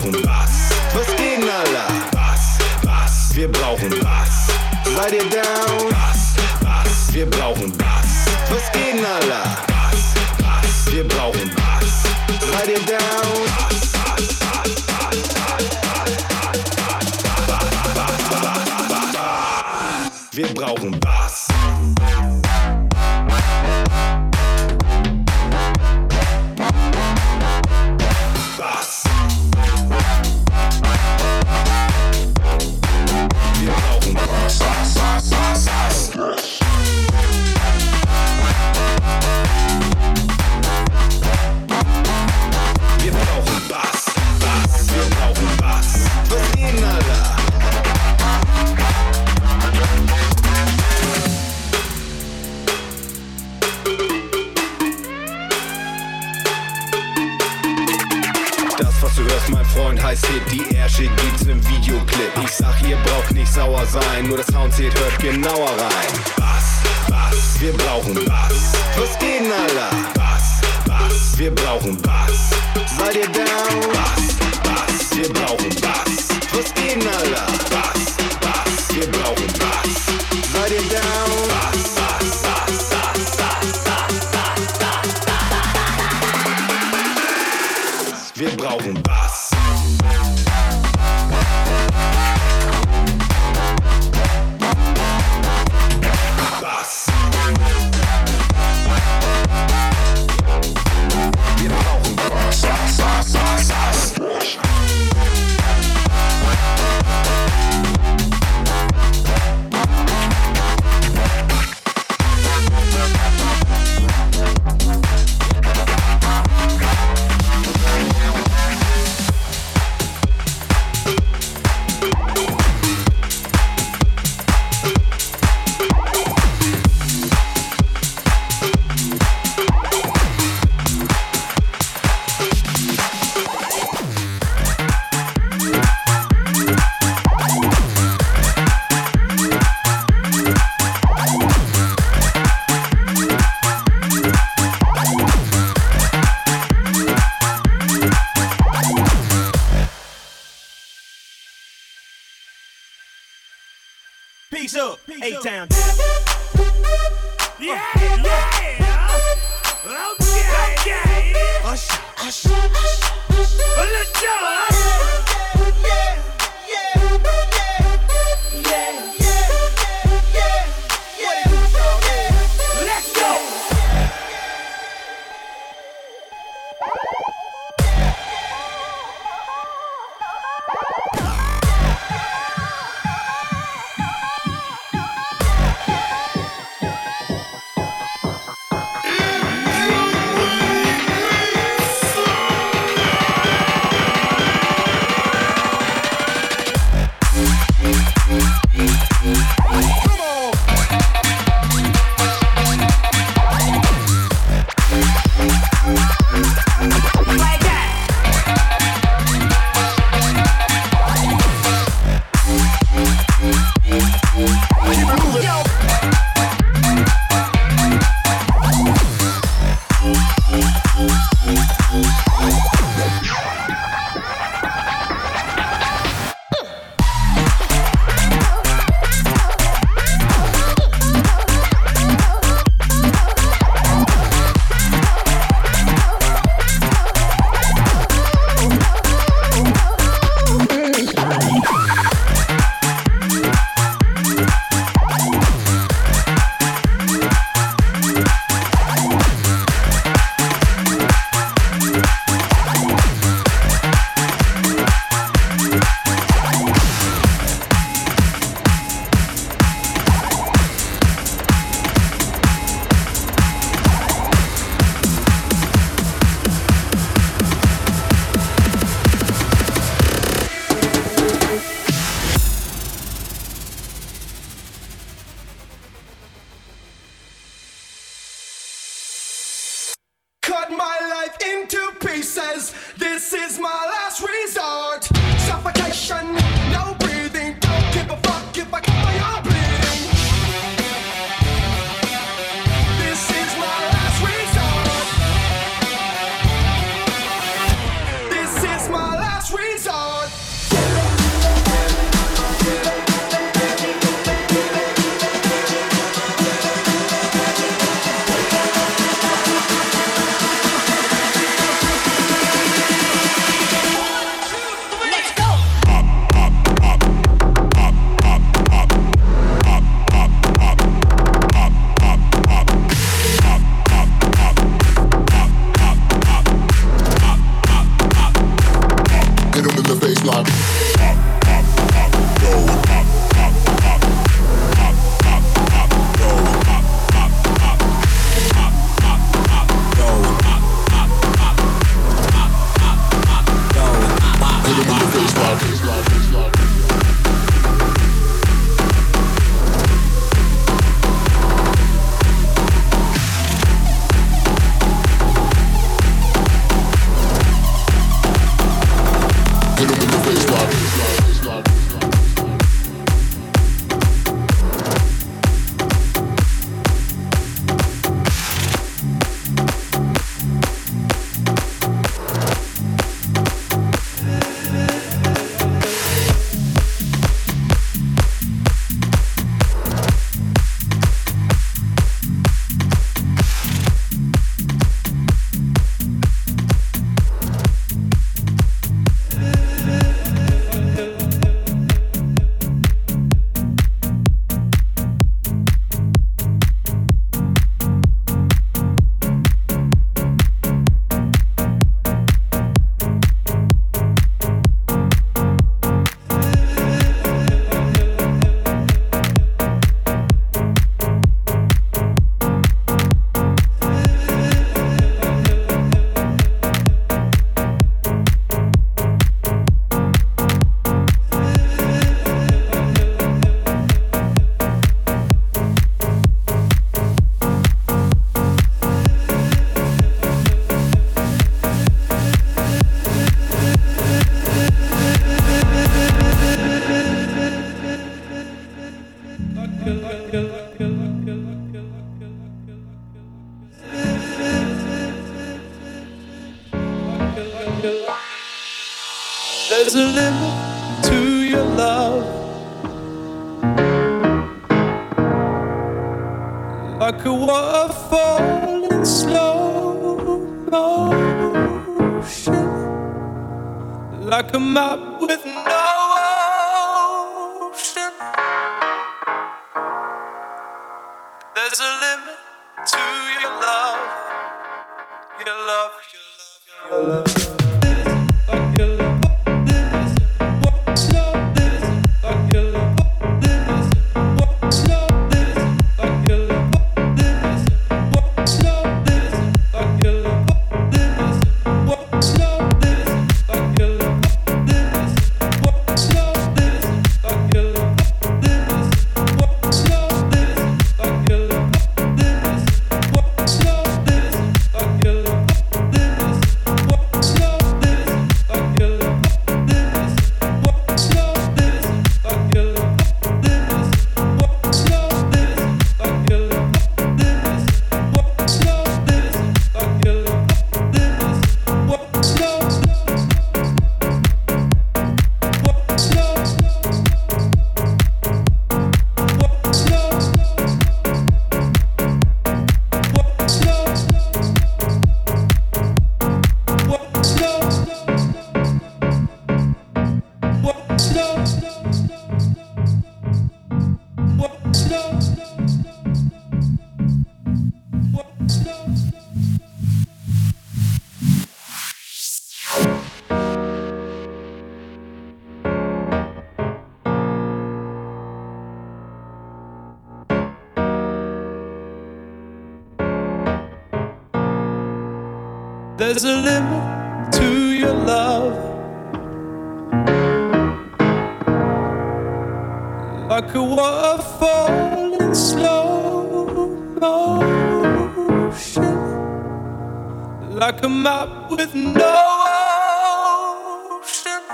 brauchen Bass. Was geht, Nala? Bass, Bass, wir brauchen Bass. Seid ihr down? Bass, Bass, wir brauchen Bass. Was geht, Nala? Bass, Bass, wir brauchen Bass. Seid ihr down? Bass, Bass, Bass, Bass, Bass. Wir brauchen Bass. Bass. Wir brauchen Bass. Wir brauchen Bass. Bass. Wir brauchen Bass. Was geht, Alter? Was du hörst, mein Freund, heißt Hit. Die Ärsche gibt's im Videoclip. Ich sag, ihr braucht nicht sauer sein, nur das Sound zählt, hört genauer rein. Bass, Bass, wir brauchen Bass. Was geht, Alter? Bass, Bass, wir brauchen Bass. Seid ihr down? Bass, Bass, wir brauchen Bass. Was geht, Alter? Bass, Bass, wir brauchen Bass. Seid ihr down? Bass, Bass, Bass, Bass, Bass, Bass, Bass. Wir brauchen Bass. Bass. Wir brauchen Bass. Bass, Bass, Bass, Bass. Peace up, A-Town. Yeah, yeah. Okay. Hush, hush, hush. Let's go. There's a limit to your love, like a waterfall in slow motion, like a map with no ocean. There's a limit to your love, your love, your love, your love. There's a limit to your love, like a waterfall in slow motion, like a map with no ocean.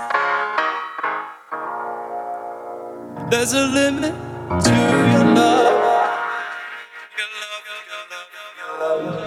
There's a limit to your love, your love, your love, your love.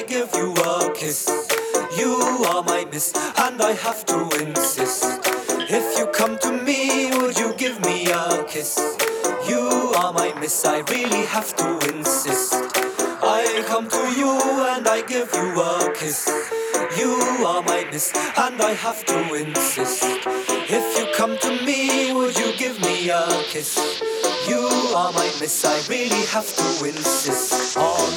give you a kiss. You are my miss, and I have to insist. If you come to me, would you give me a kiss? You are my miss, I really have to insist. I come to you and I give you a kiss. You are my miss, and I have to insist. If you come to me, would you give me a kiss? You are my miss, I really have to insist on.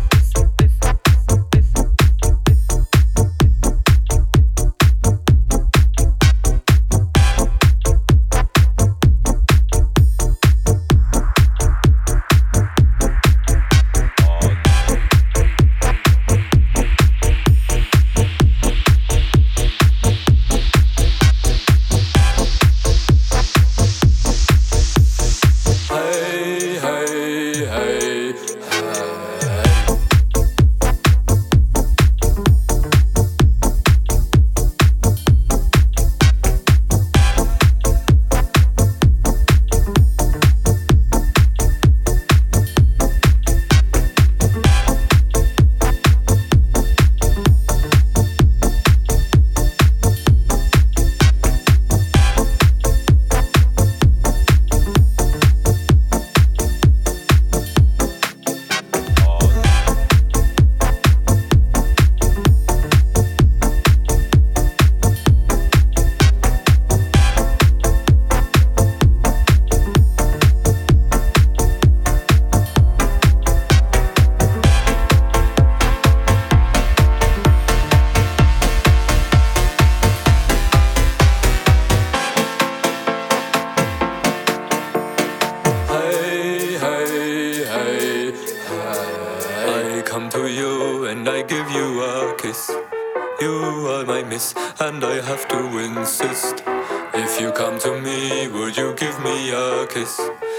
And I have to insist. If you come to me, would you give me a kiss?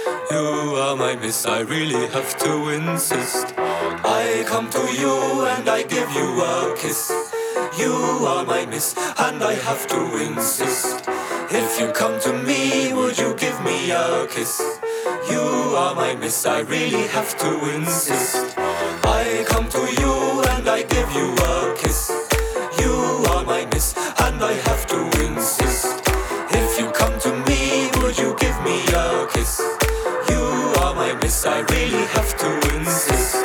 You are my miss, I really have to insist. I come to you and I give you a kiss. You are my miss, and I have to insist. If you come to me, would you give me a kiss? You are my miss, I really have to insist. I come to you and I give you a kiss. You are my miss, and I have to insist. If you come to me, would you give me a kiss? You are my miss, I really have to insist.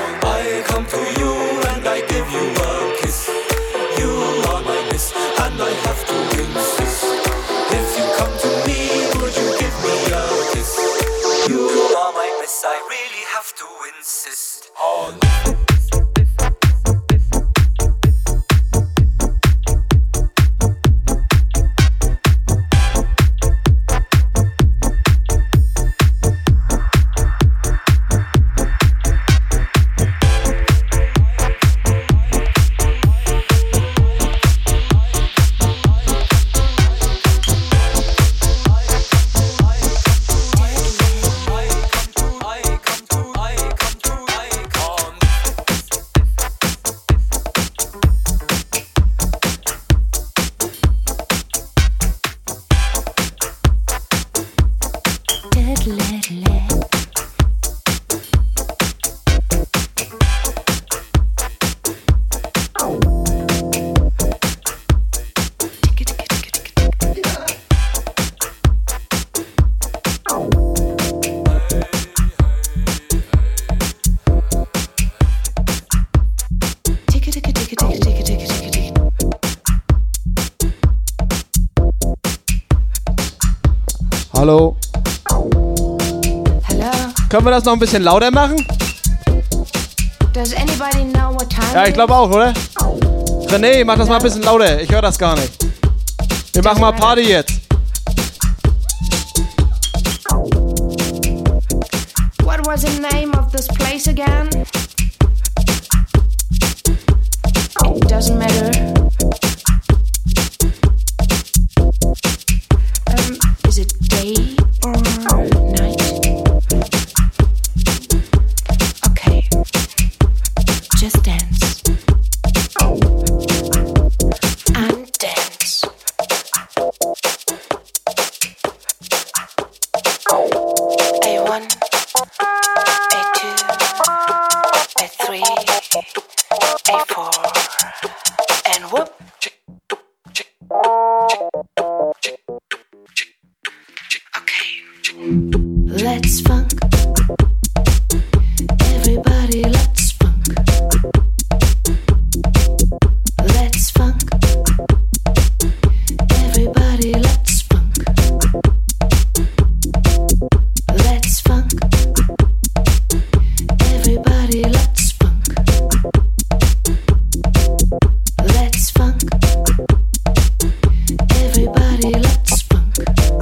I come to you and I give you a kiss. You are my miss, and I have to insist. If you come to me, would you give me a kiss? You are my miss, I really have to insist. Hallo. Hello. Können wir das noch ein bisschen lauter machen? Does anybody know what time Ja, ich glaube auch, oder? René, mach das mal ein bisschen lauter. Ich höre das gar nicht. Wir machen mal Party jetzt. What was the name of this place again? It doesn't matter. Is it day or night? Okay, just dance. And dance. A1, A2, And whoop. Okay. Let's funk. Everybody, let's funk. Let's funk. Everybody, let's funk. Let's funk. Everybody, let's funk. Let's funk. Everybody, let's funk.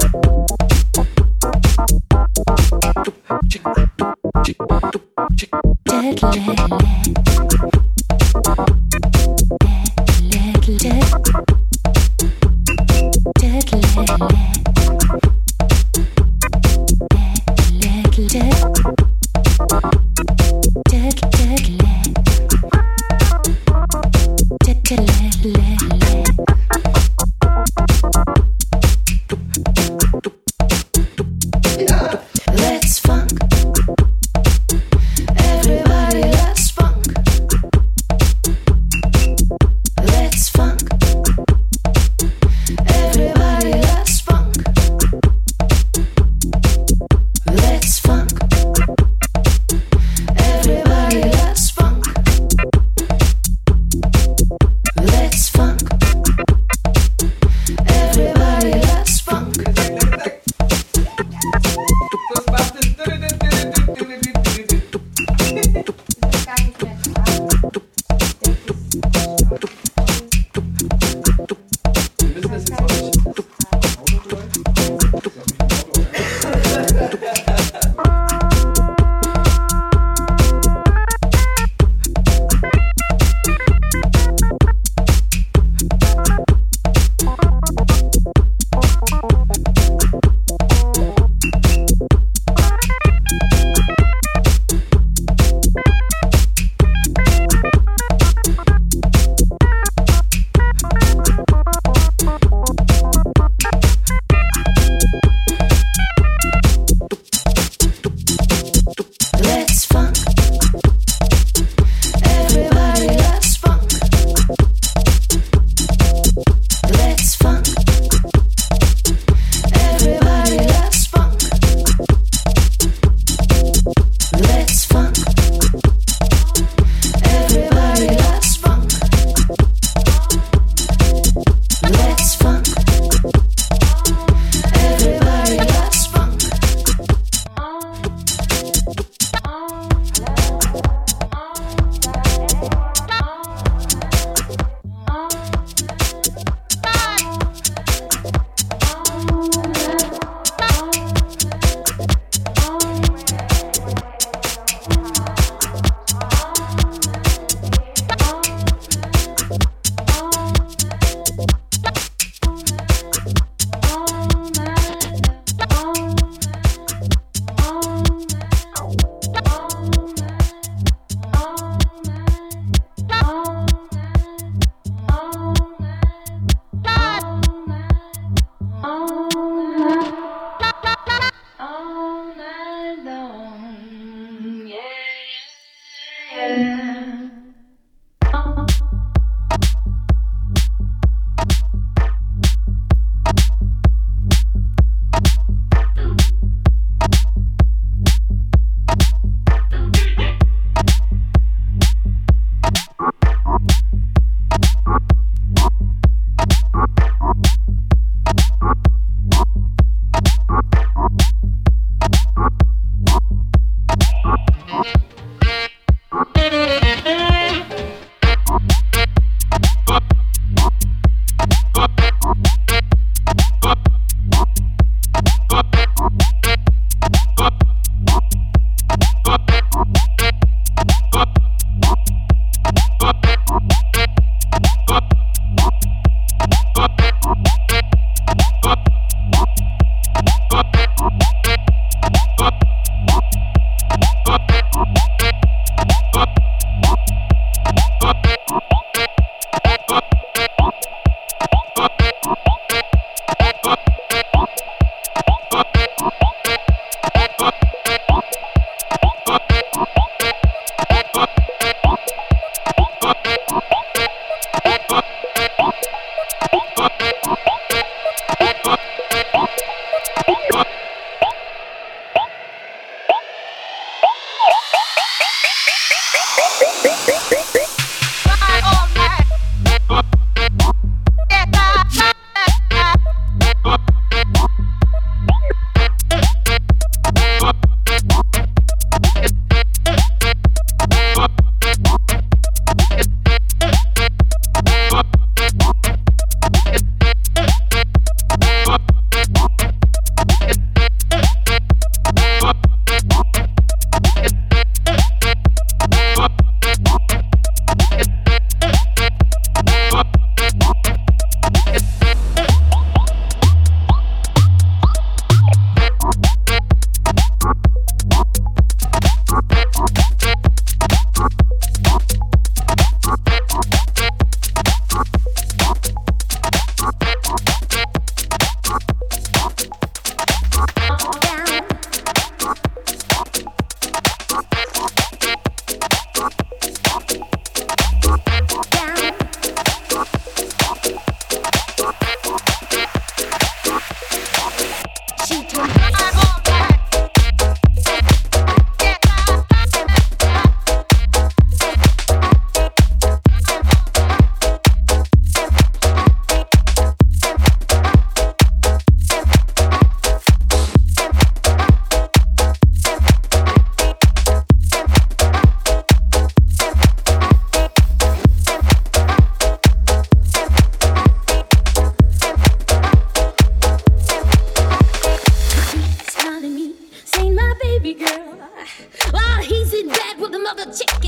Let's funk. Everybody, let's funk. Let's funk. Everybody, let's funk. Let's funk. Everybody, let's funk. Let's funk. Everybody, let's funk. Let's funk. Everybody, let's funk. Let's funk. Everybody, let's funk. Let's funk. Everybody, let's funk. Let's funk. Everybody, let's funk. All night long, yeah. Yeah.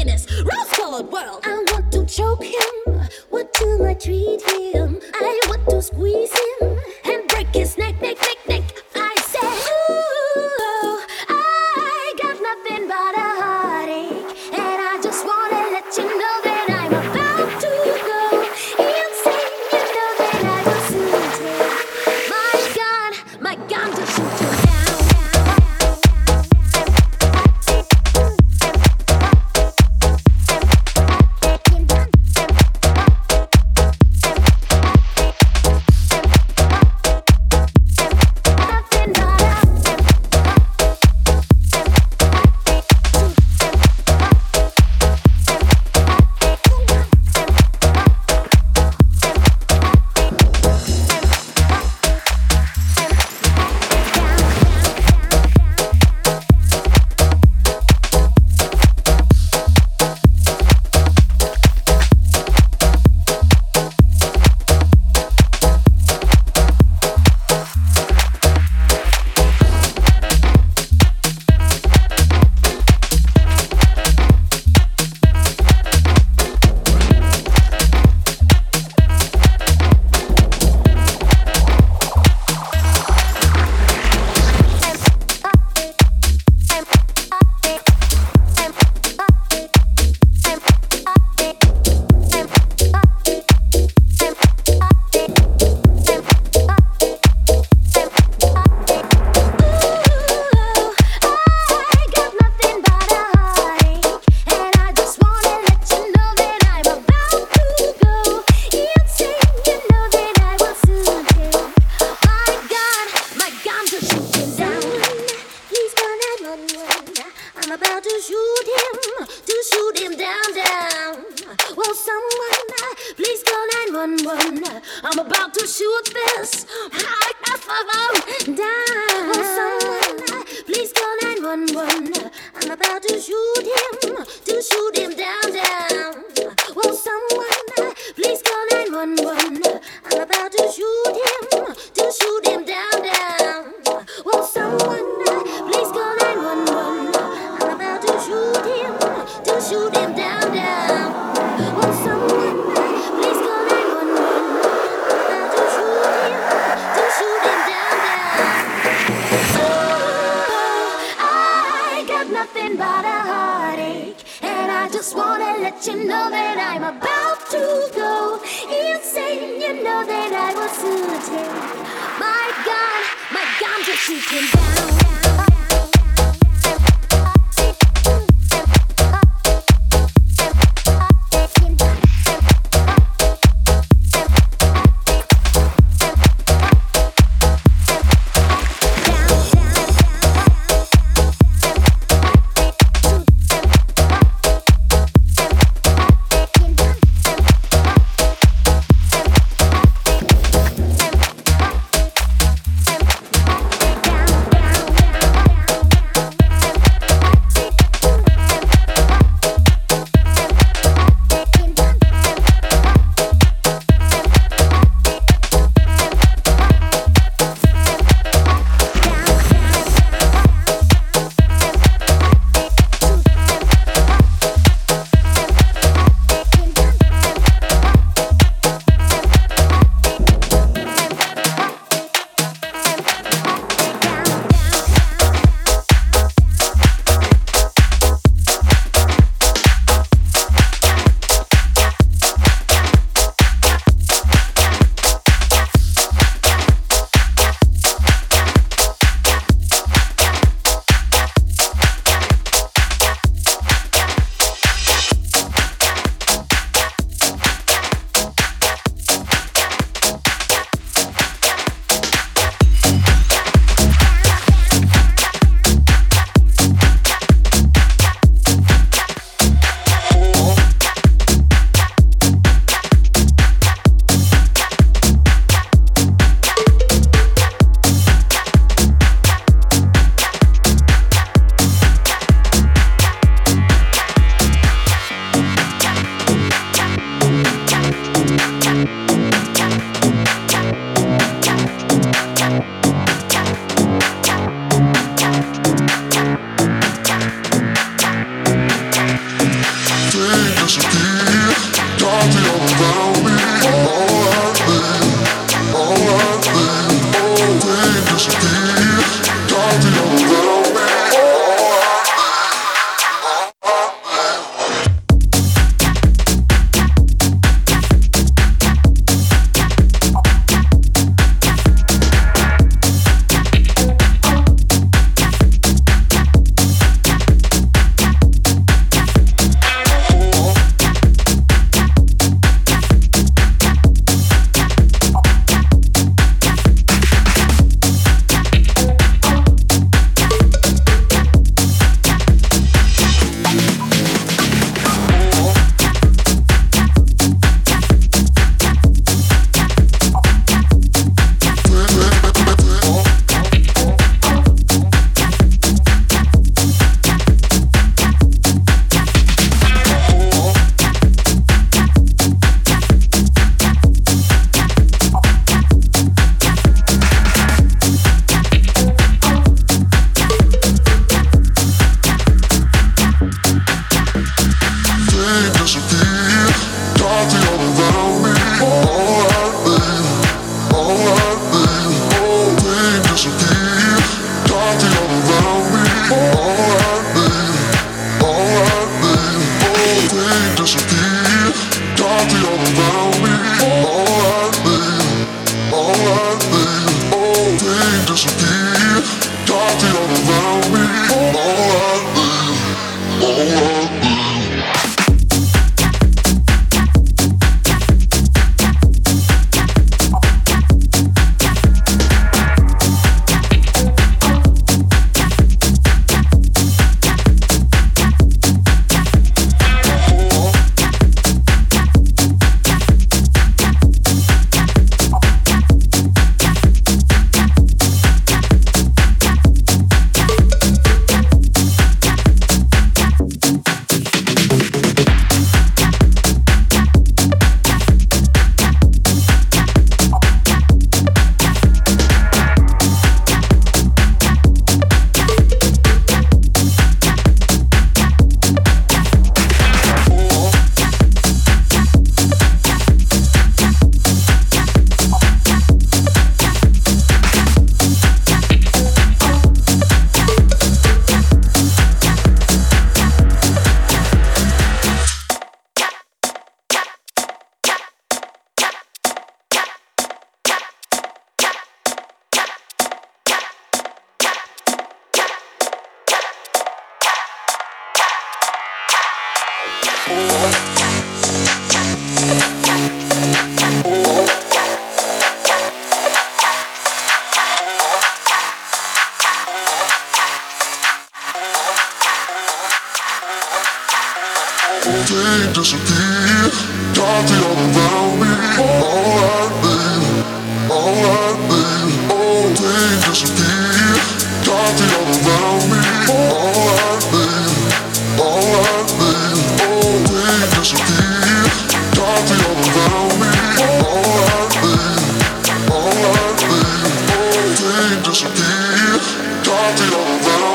in this rose-colored world. I want to choke him. What do I treat him? I want to squeeze him and break his neck, neck, neck, neck. I said, ooh, I got nothing but a heartache, and I just wanna let you know that I'm about to go insane. You know that I will soon take my gun to shoot him down. I'm about to shoot this down. Oh, someone, please call 911. I'm about to shoot him down. Well, someone, please call 911. I'm about to shoot him down. Well, someone, please call 911. I'm about to shoot him down. Well, someone, please call 911. I'm about to shoot him down. Oh, I got nothing but a heartache, and I just wanna let you know that I'm about to go insane. You know that I will soon take my gun to shoot him down. Disappear, got the other